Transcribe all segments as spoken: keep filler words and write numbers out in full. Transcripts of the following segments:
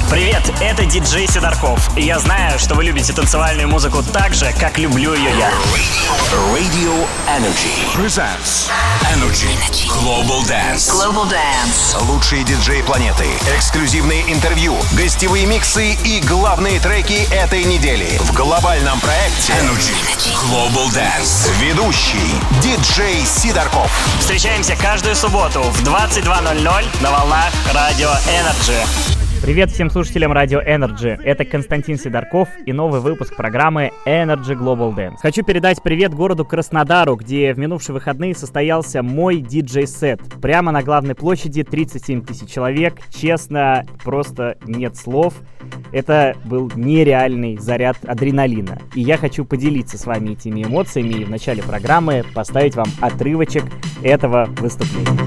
Привет, это диджей Сидорков. И я знаю, что вы любите танцевальную музыку так же, как люблю ее я. Radio Energy presents Energy Global Dance. Global Dance. Лучшие диджеи планеты, эксклюзивные интервью, гостевые миксы и главные треки этой недели в глобальном проекте Energy Global Dance. Ведущий диджей Сидорков. Встречаемся каждую субботу в двадцать два ноль ноль на волнах Radio Energy. Привет всем слушателям Radio Energy. Это Константин Сидорков и новый выпуск программы Energy Global Dance. Хочу передать привет городу Краснодару, где в минувшие выходные состоялся мой диджей-сет. Прямо на главной площади тридцать семь тысяч человек. Честно, просто нет слов. Это был нереальный заряд адреналина. И я хочу поделиться с вами этими эмоциями и в начале программы поставить вам отрывочек этого выступления.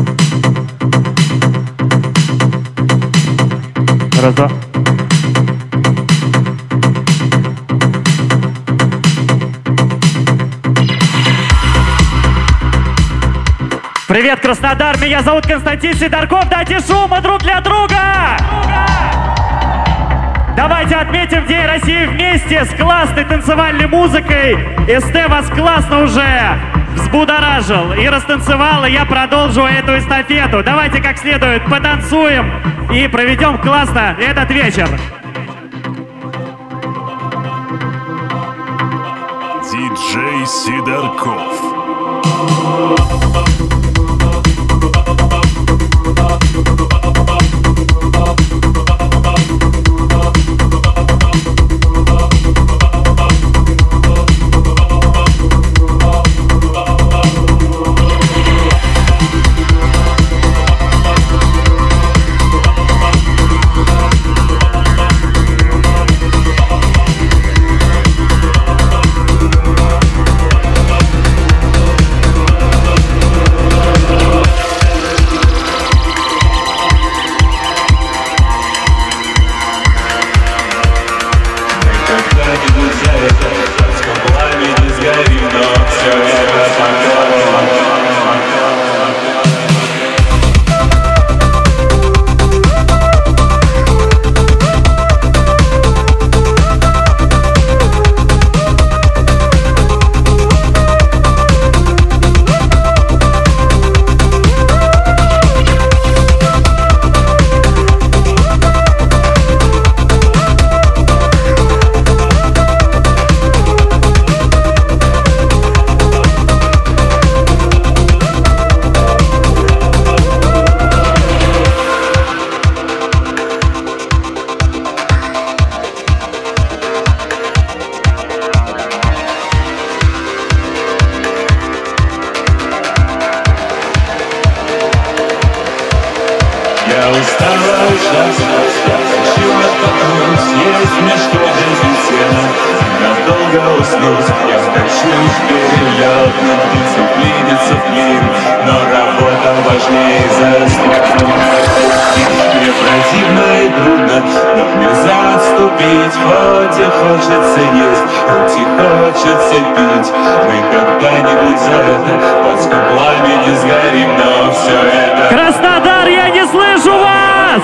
Раз-два. Привет, Краснодар! Меня зовут Константин Сидорков. Дайте шума друг для друга! Давайте отметим День России вместе с классной танцевальной музыкой. СТ вас классно уже взбудоражил и растанцевал, и я продолжу эту эстафету. Давайте как следует потанцуем и проведем классно этот вечер. Диджей Сидорков. Краснодар, я не слышу вас!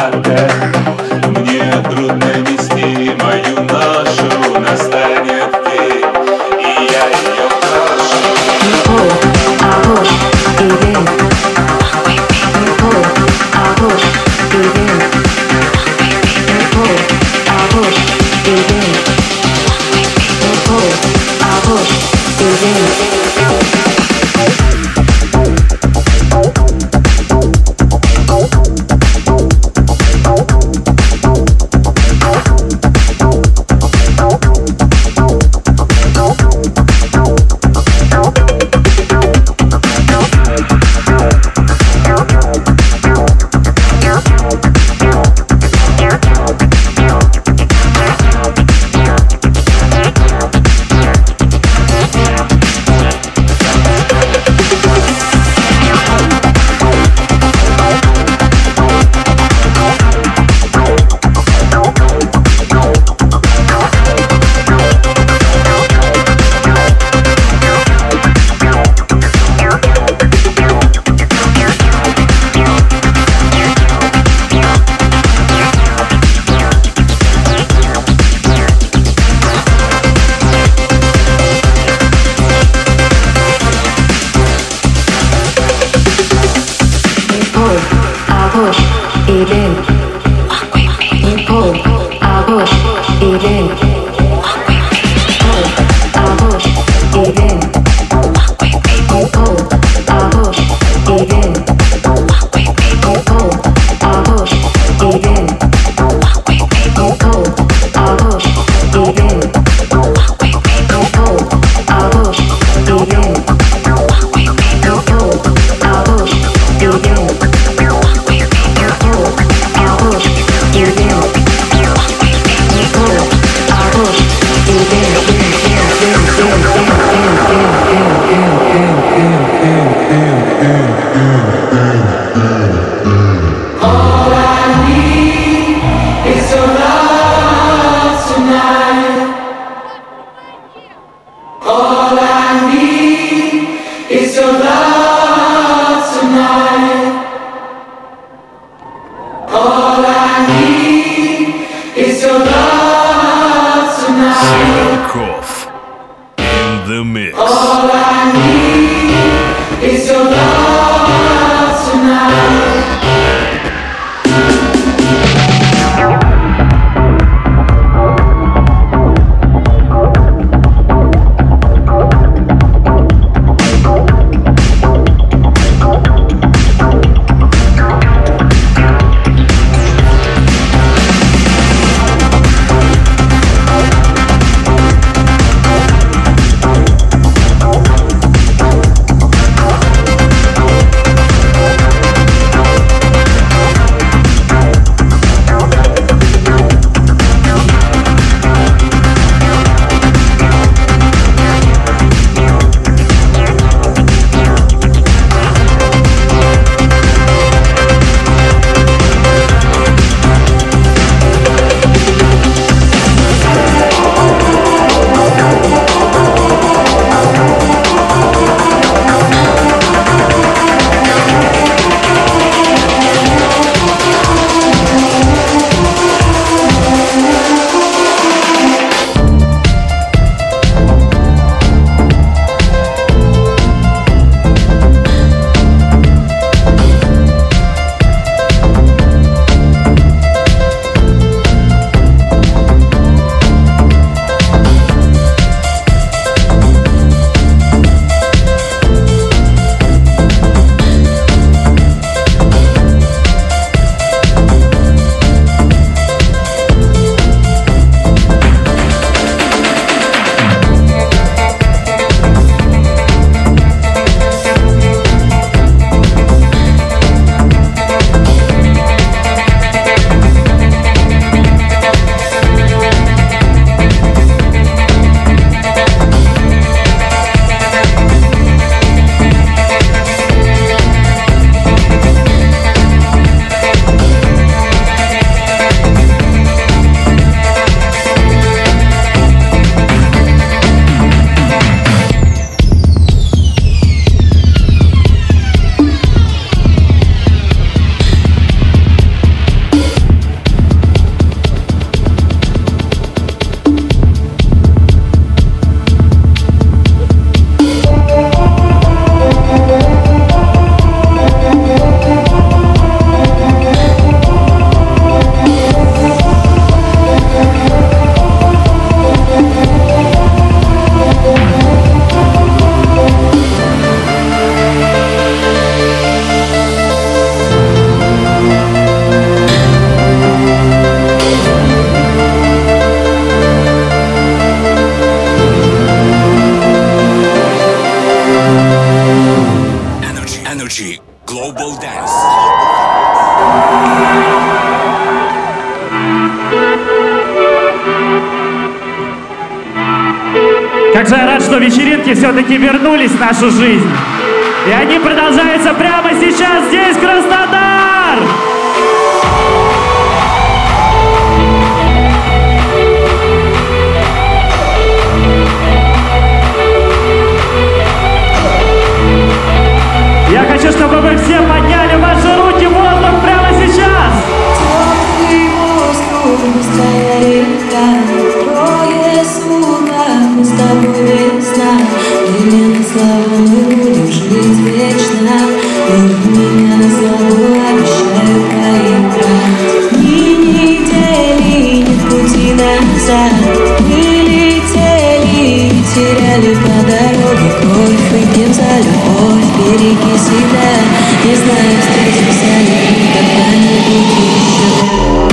Мне трудно нести мою ношу, настанет день. Сидорков in the mix. All I need is your love tonight. Как же я рад, что вечеринки все-таки вернулись в нашу жизнь. И они продолжаются прямо сейчас здесь, Краснодар! Я хочу, чтобы вы все подняли ваши руки в воздух прямо сейчас! Теплый воздух, быстрая река, трое суток, мы с тобой весна. Временно славу мы будем жить вечно. Любовь меня на славу, обещаю проиграть. Ни недели, нет пути назад. Мы летели и теряли по дороге кровь. Выпьем за любовь, береги себя. Не знаю, встретимся ли когда-нибудь еще.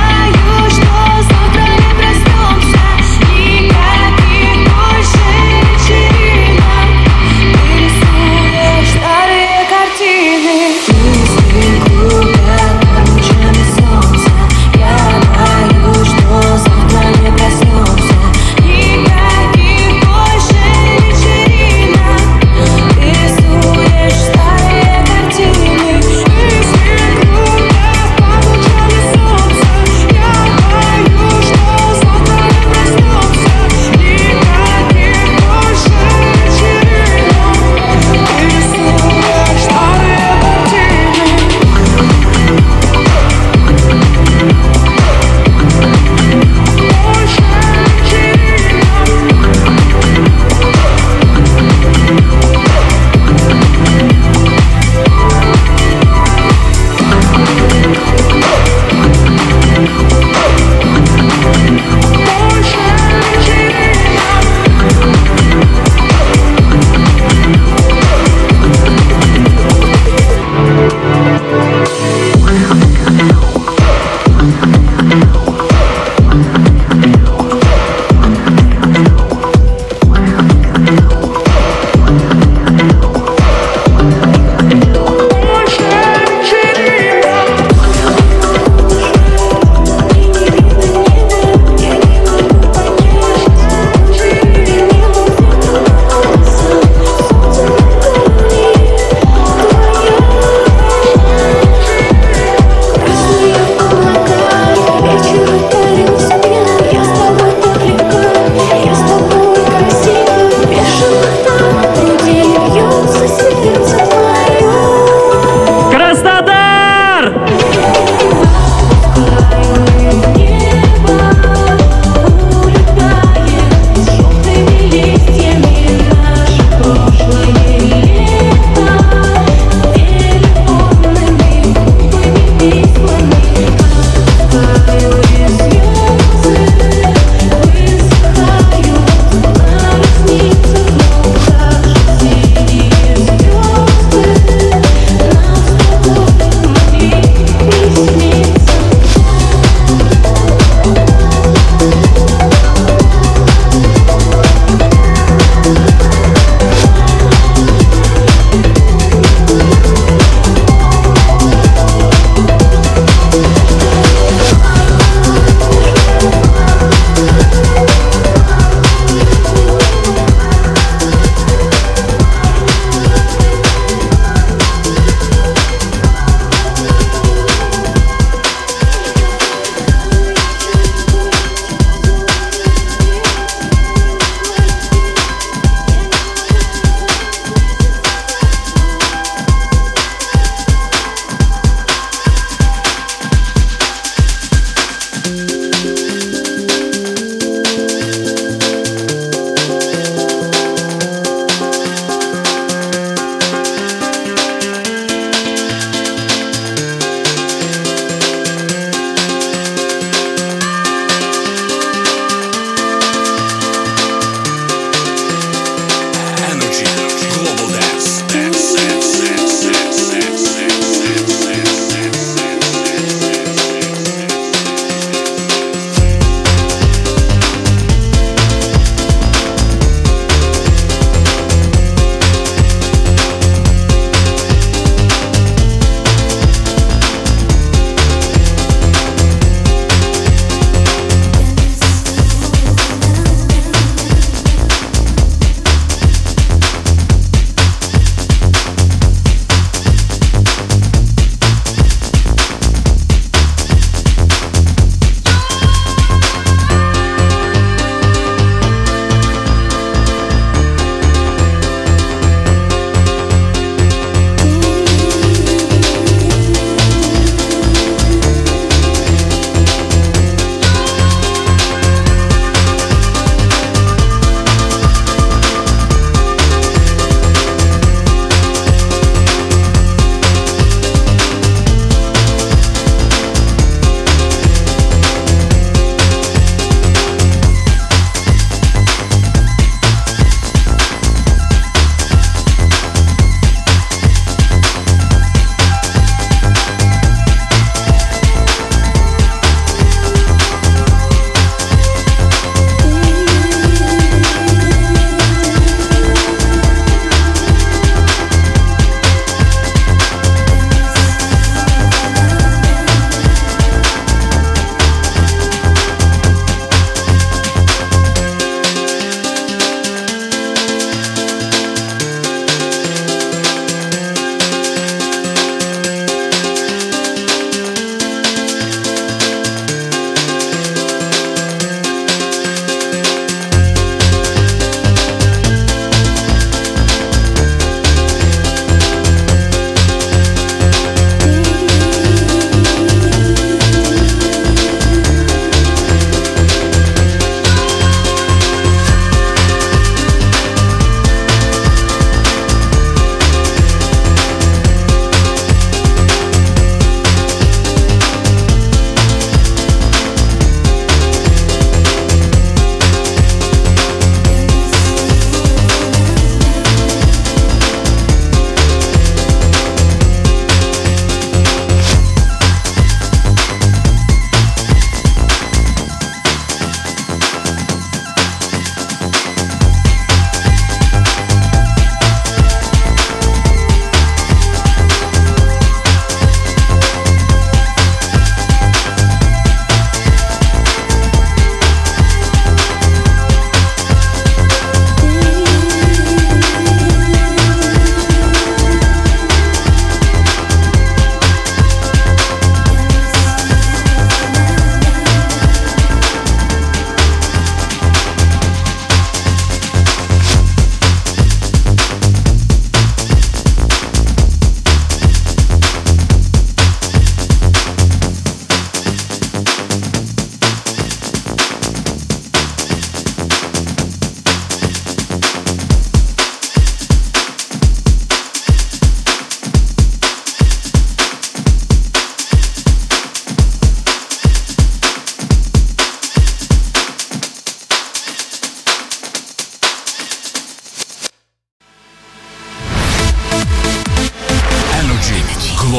Что завтра не проснемся, никаких больше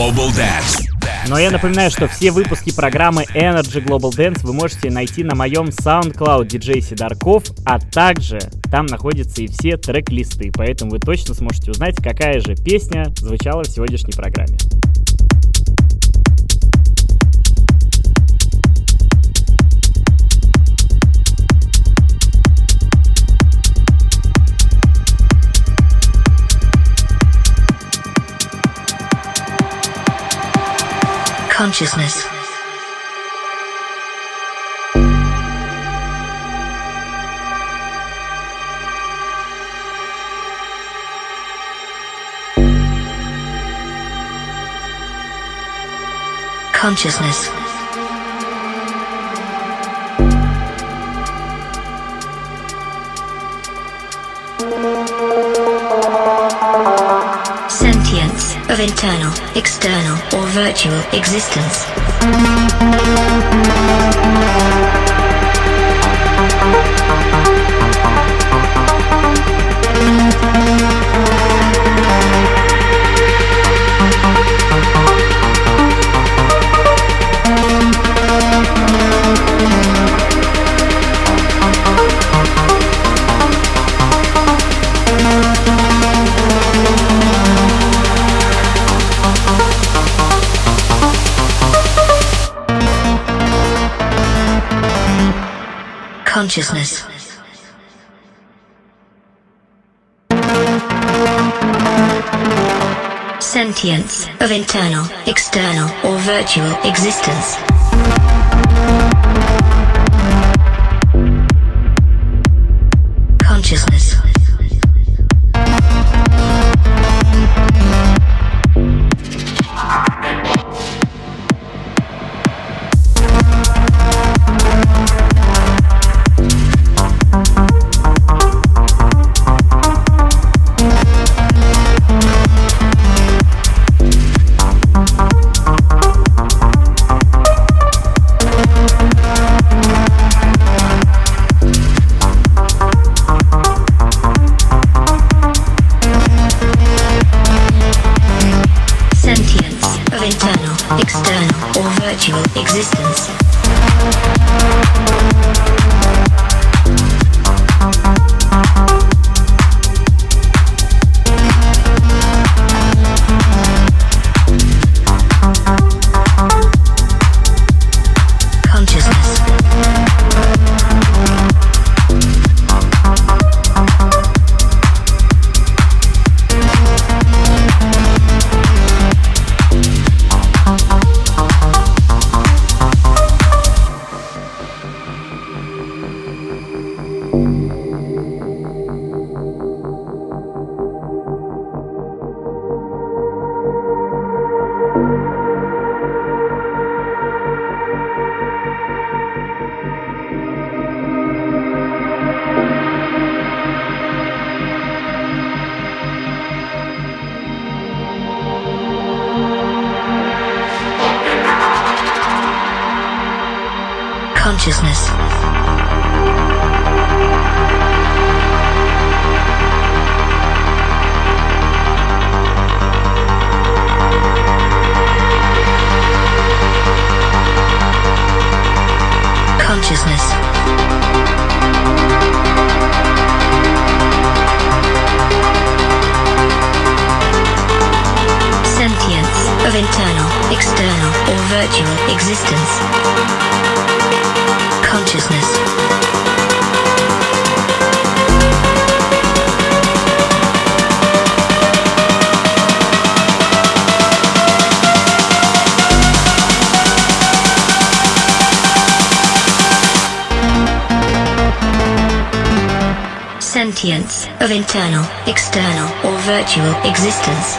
Global Dance. Но я напоминаю, что все выпуски программы Energy Global Dance вы можете найти на моем SoundCloud ди джей Сидорков, а также там находятся и все трек-листы, поэтому вы точно сможете узнать, какая же песня звучала в сегодняшней программе. Consciousness. Consciousness. Sentience of internal, external, or virtual existence. Consciousness. Sentience of internal, external, or virtual existence. Consciousness. Existence. Consciousness. Consciousness. Consciousness. Sentience of internal, external, or virtual existence. Consciousness. Sentience of internal, external, or virtual existence.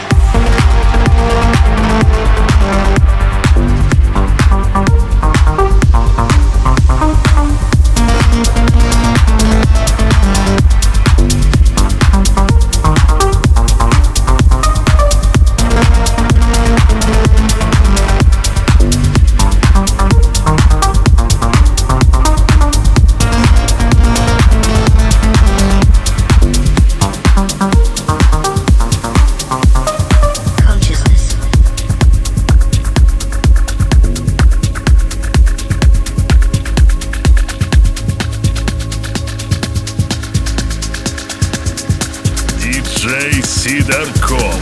Consciousness. Сидорков.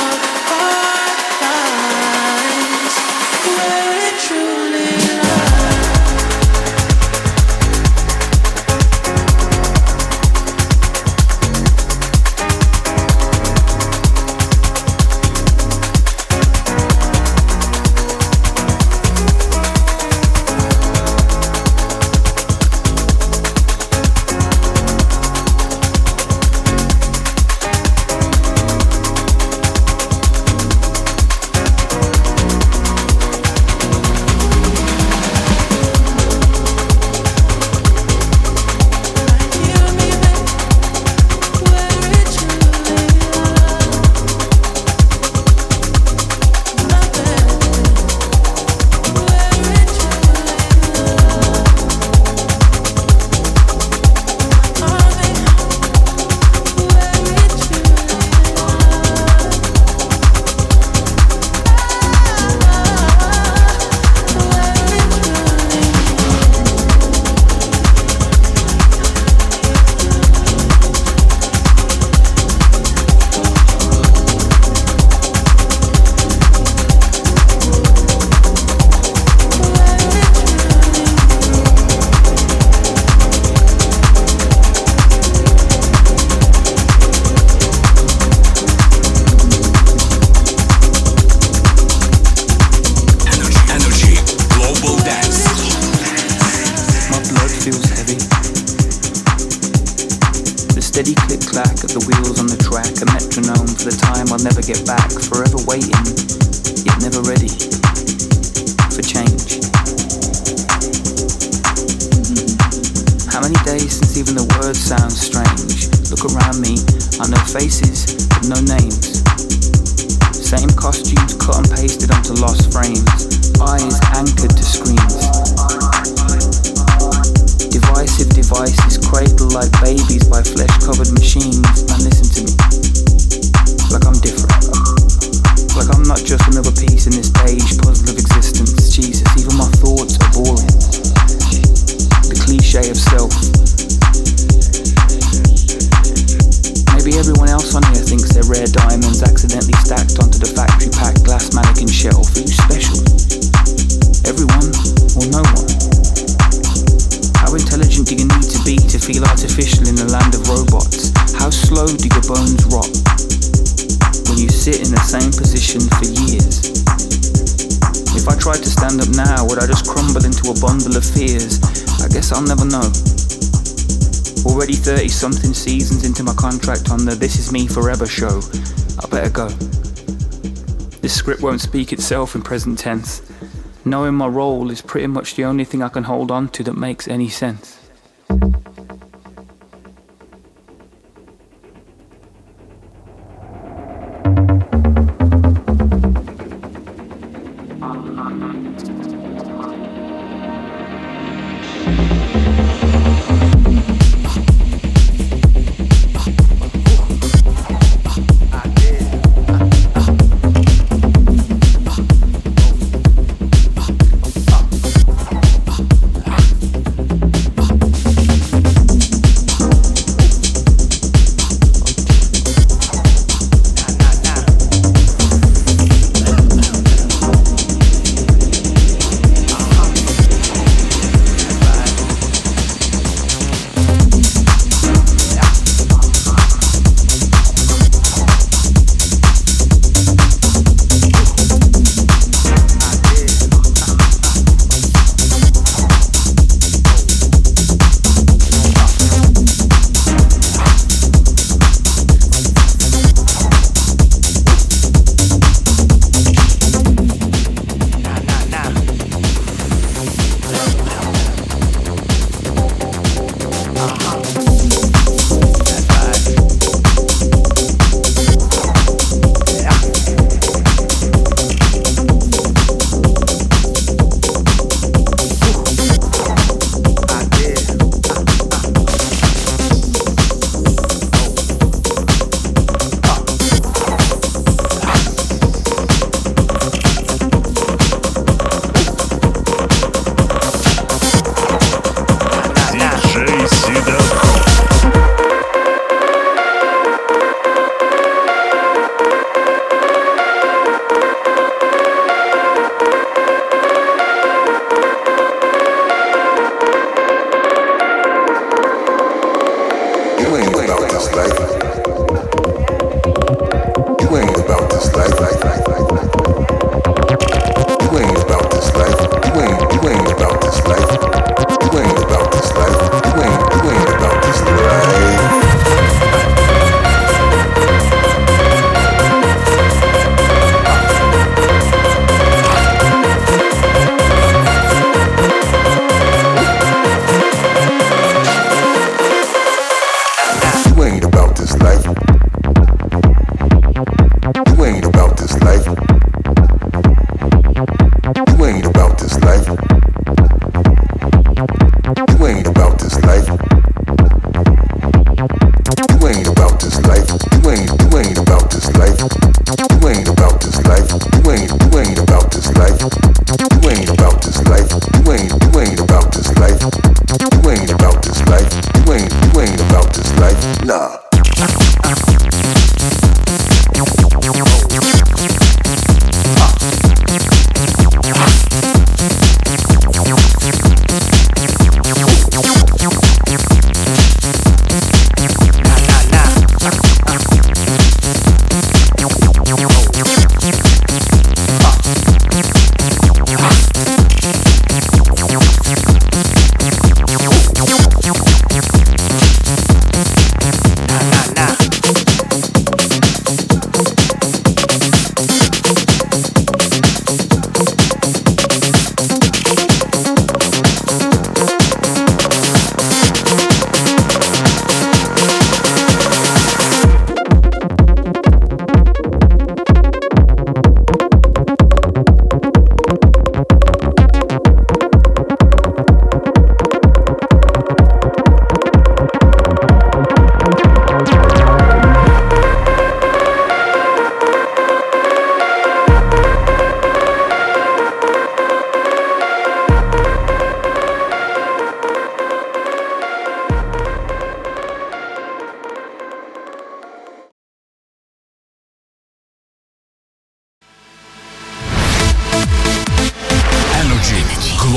Where it truly lies. heavy. The steady click-clack of the wheels on the track, a metronome for the time I'll never get back, forever waiting, yet never ready for change. How many days since even the word sounds strange? Look around me, I know faces, but no names. Same costumes cut and pasted onto lost frames, eyes anchored to screens. Divisive devices cradled like babies by flesh-covered machines. Now listen to me, like I'm different, like I'm not just another piece in this beige puzzle of existence. Jesus, even my thoughts are boring. The cliche of self. Maybe everyone else on here thinks they're rare diamonds accidentally stacked onto the factory-packed glass mannequin shelf. Who's special? Everyone or no one? How intelligent do you need to be to feel artificial in the land of robots? How slow do your bones rot when you sit in the same position for years? If I tried to stand up now, would I just crumble into a bundle of fears? I guess I'll never know. Already thirty-something seasons into my contract on the This Is Me Forever show. I better go. This script won't speak itself in present tense. Knowing my role is pretty much the only thing I can hold on to that makes any sense. We'll be right back.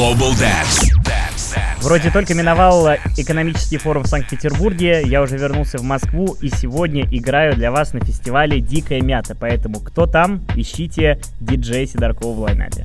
Global Dance. Вроде только миновал экономический форум в Санкт-Петербурге, я уже вернулся в Москву и сегодня играю для вас на фестивале «Дикая мята», поэтому кто там, ищите диджея Сидоркова в лайнапе.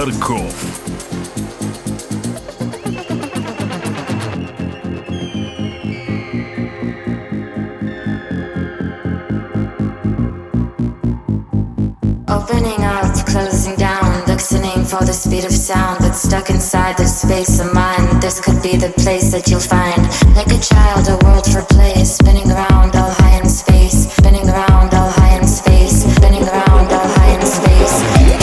Дарков. Opening up, closing down, listening for the speed of sound that's stuck inside the space of mind. This could be the place that you'll find. Like a child, a world for play, spinning around all high in space, spinning around all high in space, spinning around all high in space.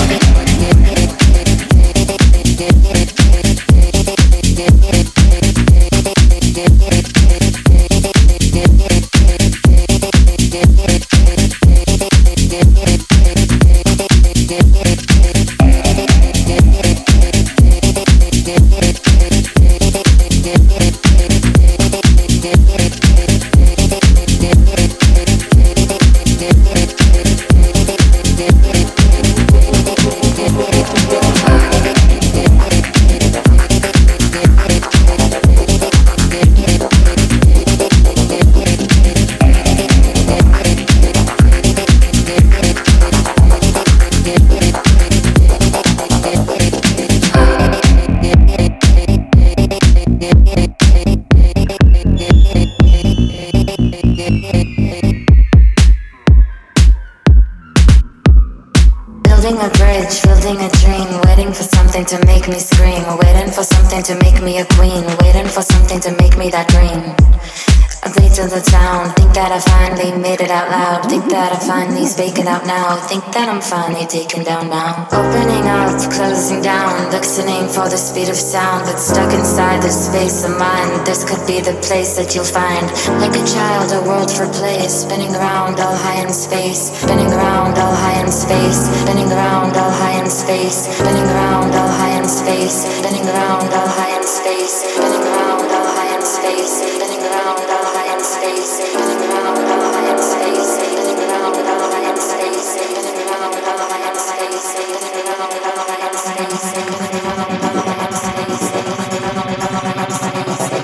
To make me scream, waiting for something to make me a queen, waiting for something to make me that green. I play to the town, think that I finally made it out loud, think that I finally speak it out now, think that I'm finally taken down now. Opening up, closing down, listening for the speed of sound that's stuck inside the space of mind. This could be the place that you'll find. Like a child, a world for play, spinning around all high in space, spinning around all high in space, spinning around all high in space, spinning around all high in space, spinning around all high in space, spinning around all high in space, spinning around all high in space, spinning around all high in space, spinning around all high in space, spinning around all high in space, spinning around all high in space, spinning around all high in space, spinning around all high in space, spinning around all high in space.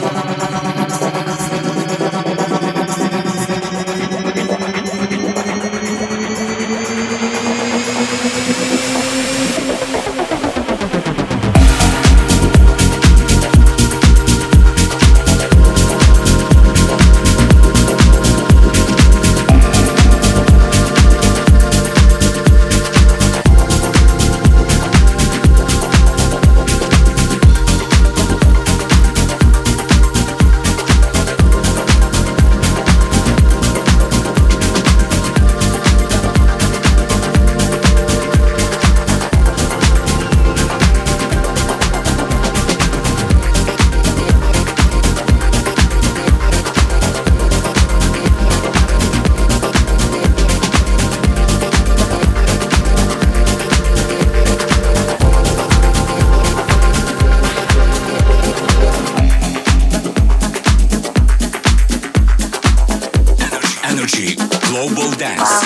Global Dance.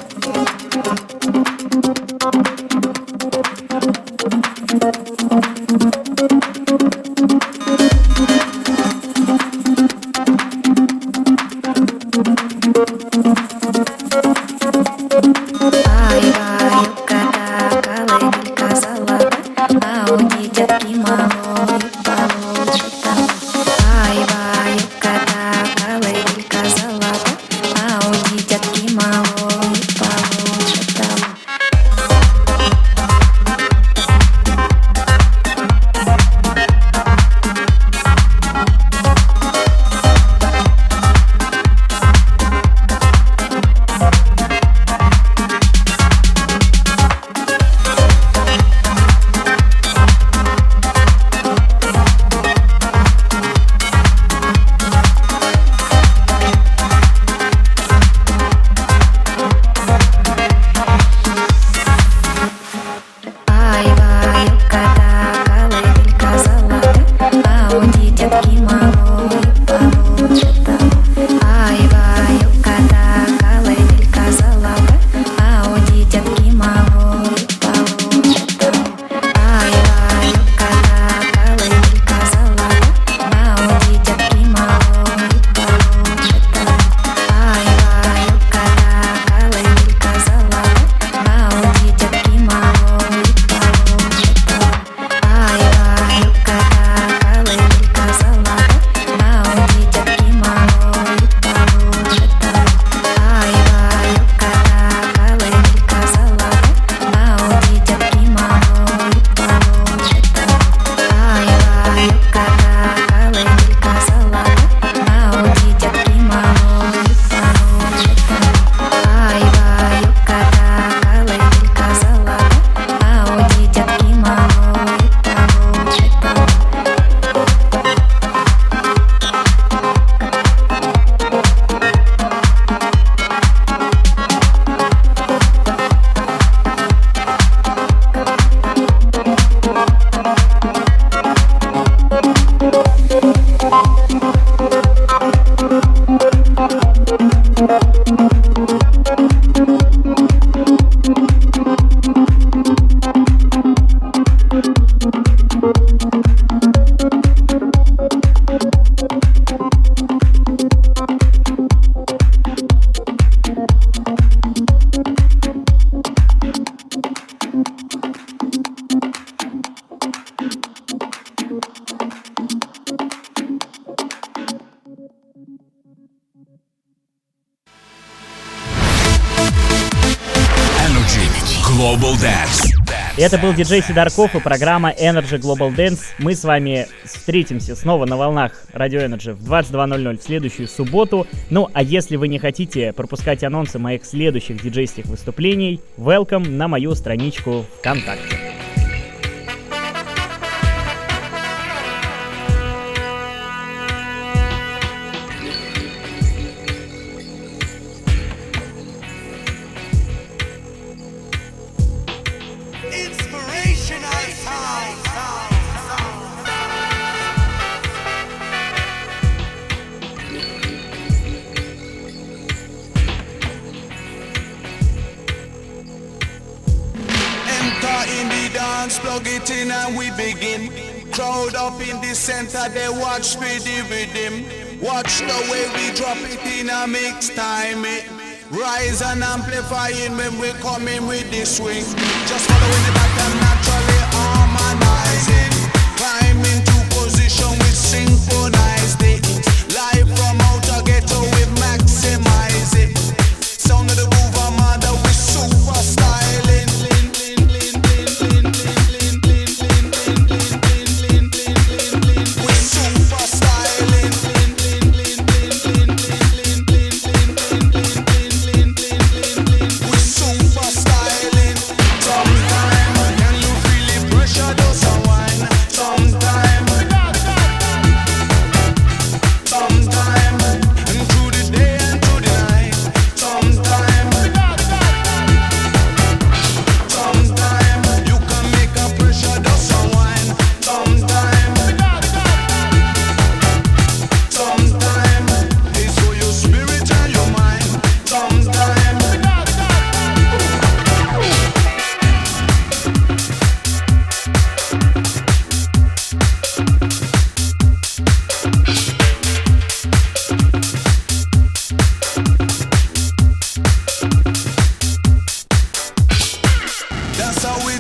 Global Dance. Это был диджей Сидорков и программа Energy Global Dance. Мы с вами встретимся снова на волнах Radio Energy в двадцать два ноль ноль в следующую субботу. Ну, а если вы не хотите пропускать анонсы моих следующих диджейских выступлений, welcome на мою страничку ВКонтакте. Plug it in and we begin. Crowd up in the center, they watch me the rhythm. Watch the way we drop it in a mix time. It rise and amplifying when we come in with the swing. Just following the pattern, naturally harmonizing. Climb into position with synchronized it. Live from outer ghetto, we maximize it. Sound of the groove, I'm under, we super styling. Sometimes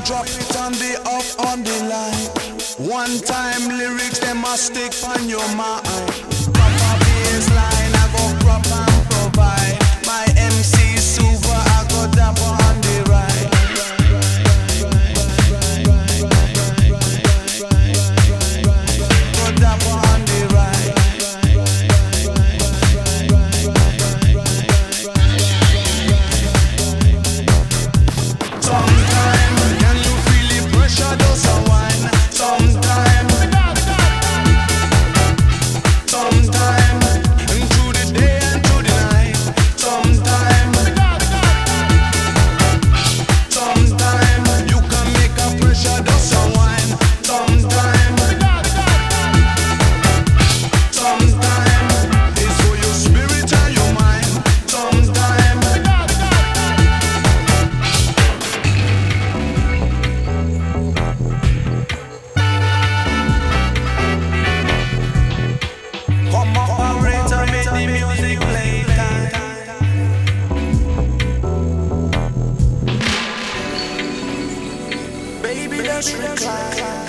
drop it on the up on the line. One time lyrics, they must stick on your mind. Proper baseline, I go prop and provide. My M C super, I go dapper on the ride. Go dapper on the ride. Sometimes, can you feel the pressure does a wine? Sometimes, sometimes, and through the day and through the night. Sometimes, sometimes, you can make a pressure does a wine. Sometimes, sometimes, it's for your spirit and your mind. Sometimes. Come operator, make the music play time. Baby, let's recline.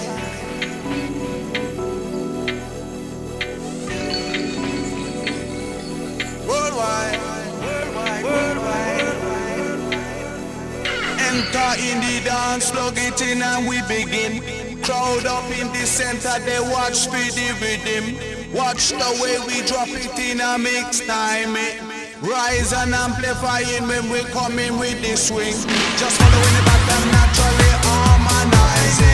Worldwide, worldwide, worldwide. Enter in the dance, plug it in and we begin. Crowd up in the center, they watch for the rhythm. Watch the way we drop it in a mix time. eh. Rise and amplifying when we come in with the swing. Just following the back and naturally harmonizing.